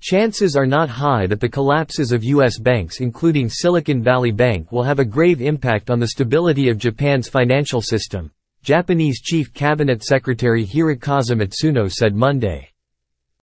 Chances are not high that the collapses of U.S. banks, including Silicon Valley Bank, will have a grave impact on the stability of Japan's financial system, Japanese Chief Cabinet Secretary Hirokazu Matsuno said Monday.